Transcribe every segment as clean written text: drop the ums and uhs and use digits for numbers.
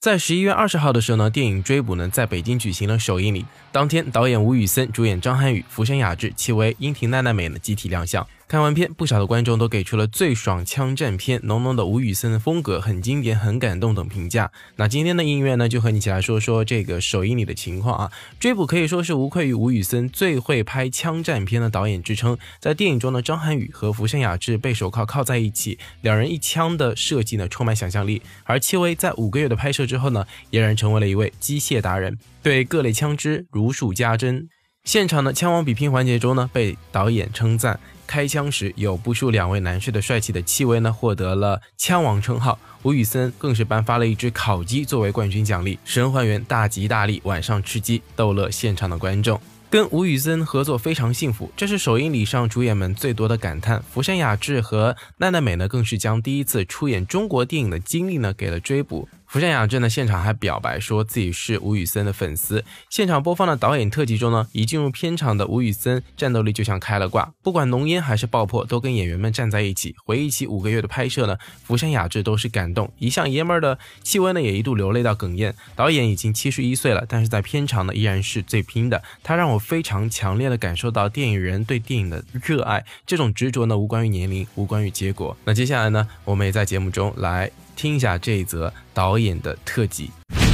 在11月20号的时候呢，电影《追捕》呢在北京举行了首映礼。当天，导演吴宇森、主演张涵予、福山雅治、戚薇、樱庭奈奈美呢集体亮相。看完片，不少的观众都给出了最爽枪战片、浓浓的吴宇森的风格、很经典、很感动等评价。那今天的音乐呢，就和你一起来说说这个首映礼的情况啊。追捕可以说是无愧于吴宇森最会拍枪战片的导演之称。在电影中呢，张涵予和福山雅治背手靠在一起，两人一枪的设计呢充满想象力。而戚薇在5个月的拍摄之后呢，俨然成为了一位机械达人，对各类枪支如数家珍。现场的枪王比拼环节中呢，被导演称赞。开枪时有不输2位男士的帅气的戚薇呢，获得了枪王称号。吴宇森更是颁发了一只烤鸡作为冠军奖励，神还原大吉大利，晚上吃鸡，逗乐现场的观众。跟吴宇森合作非常幸福，这是首映礼上主演们最多的感叹。福山雅治和奈奈美呢，更是将第一次出演中国电影的经历呢给了追捕。福山雅治呢，现场还表白说自己是吴宇森的粉丝。现场播放的导演特辑中呢，一进入片场的吴宇森战斗力就像开了挂，不管浓烟还是爆破，都跟演员们站在一起。回忆起5个月的拍摄呢，福山雅治都是感动，一向爷们儿的戚薇呢也一度流泪到哽咽。导演已经71岁了，但是在片场呢依然是最拼的。他让我非常强烈的感受到电影人对电影的热爱，这种执着呢无关于年龄，无关于结果。那接下来呢，我们也在节目中来听一下这一则导演的特辑。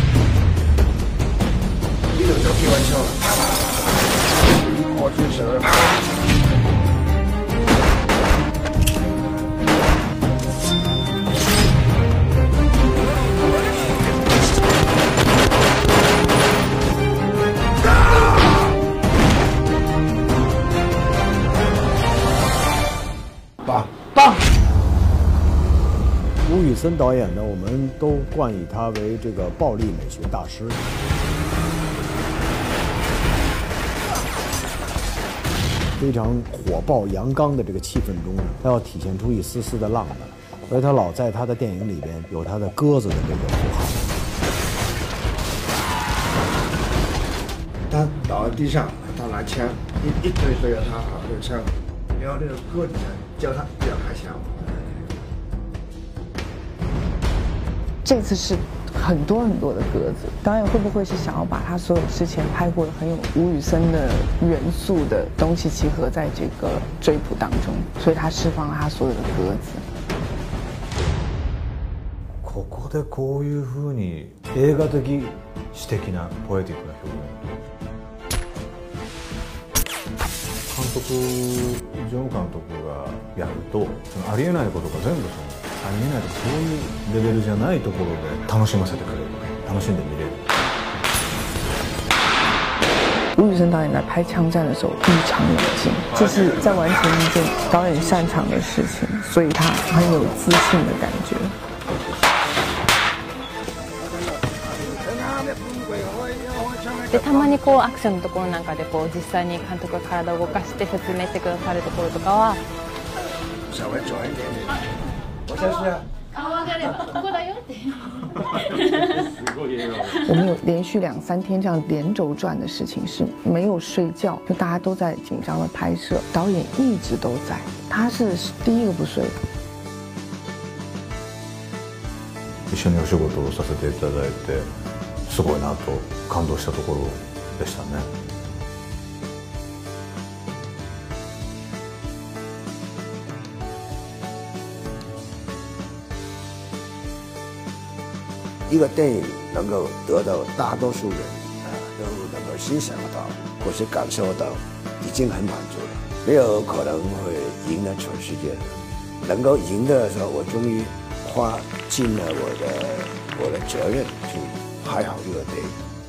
你就开玩笑了，我去蛇。 棒！吴宇森导演呢，我们都冠以他为这个暴力美学大师。非常火爆阳刚的这个气氛中呢，他要体现出一丝丝的浪漫，所以他老在他的电影里边有他的鸽子的这个符号。 他倒在地上，他拿枪一推着他啊，这个枪，然后那个鸽子叫他不要开枪。 这次是很多的鸽子，导演会不会是想要把他所有之前拍过的很有吴宇森的元素的东西集合在这个追捕当中，所以他释放了他所有的鸽子。 ここでこういう風に映画的詩的なポエティックな表現。監督ジョン監督がやるとありえないことが全部ありえないとかそういうレベルじゃないところで楽しませてくれる、楽しんで見れる。 吴宇森导演在拍枪战的时候异常冷静，这是在完成一件导演擅长的事情，所以他很有自信的感觉。 でたまにこうアクションのところなんかでこう実際に監督が体を動かして説明してくださるところとかは。 稍微转一点点。我先试啊。 我们有连续2、3天这样连轴转的事情，是没有睡觉，就大家都在紧张的拍摄，导演一直都在，他是第一个不睡的。 一緒にお仕事をさせていただいて、すごいなと感動したところでしたね。 一个电影能够得到大多数人都能够欣赏到或是感受到，已经很满足了。没有可能会赢得全世界的，能够赢的时候，我终于花尽了我的责任去拍好这个电影。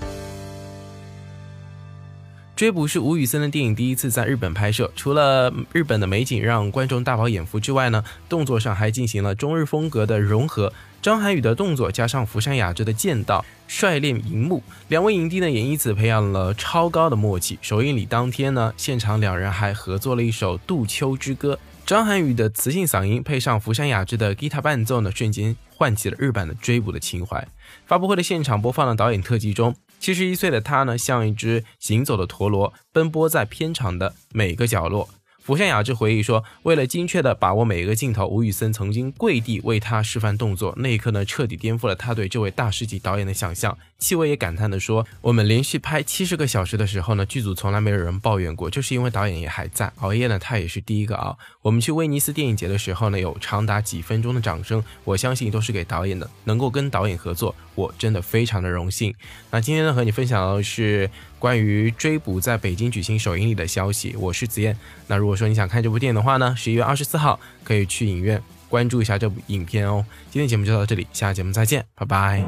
追捕是吴宇森的电影第一次在日本拍摄，除了日本的美景让观众大饱眼福之外呢，动作上还进行了中日风格的融合。张涵予的动作加上福山雅治的剑道，帅练荧幕，两位影帝呢也因此培养了超高的默契。首映礼当天呢，现场两人还合作了一首《杜秋之歌》，张涵予的磁性嗓音配上福山雅治的吉他伴奏呢，瞬间唤起了日版的追捕的情怀。发布会的现场播放的导演特辑中，71岁的他呢，像一只行走的陀螺，奔波在片场的每个角落。 福山雅治回忆说，为了精确地把握每一个镜头，吴宇森曾经跪地为他示范动作，那一刻呢，彻底颠覆了他对这位大师级导演的想象。戚薇也感叹地说，我们连续拍70个小时的时候呢，剧组从来没有人抱怨过，就是因为导演也还在，熬夜呢他也是第一个熬。我们去威尼斯电影节的时候呢，有长达几分钟的掌声，我相信都是给导演的，能够跟导演合作，我真的非常的荣幸。那今天呢，和你分享的是关于追捕在北京举行首映礼的消息，我是子燕。那如果说你想看这部电影的话呢，11月24号可以去影院关注一下这部影片哦。今天节目就到这里，下期节目再见，拜拜。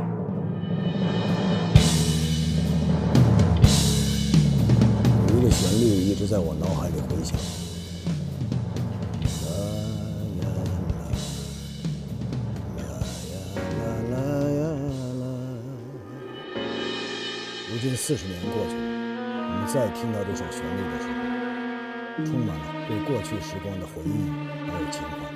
有一个旋律一直在我脑海里回响。如今40年过去了，我们再听到这首旋律的时候，充满了对过去时光的回忆还有情怀。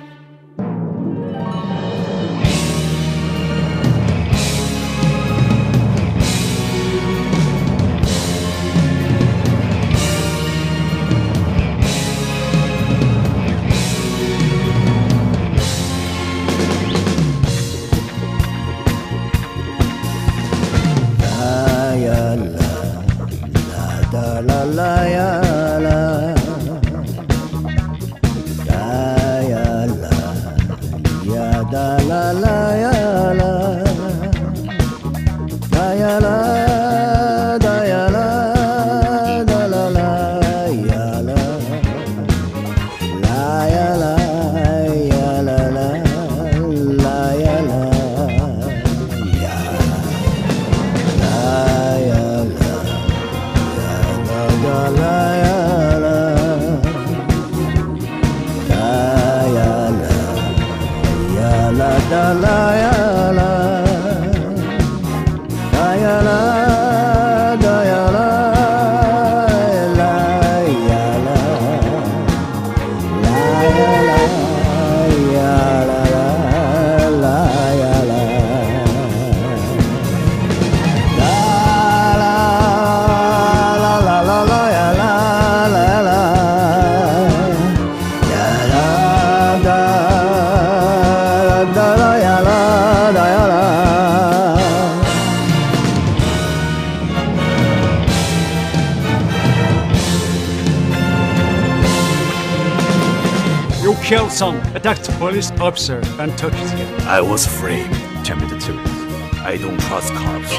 Killed some, attacked police officer and took his gun. I was afraid. Tell me the truth. I don't trust cops.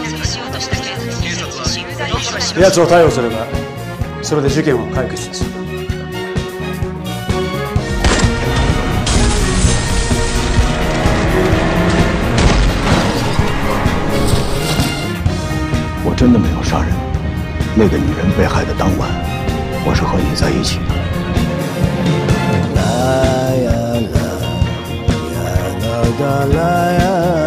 奴を逮捕すれば、それで事件は解決です。 我真的没有杀人。那个女人被害的当晚，我是和你在一起的。 啦呀啦呀啦啦啦呀。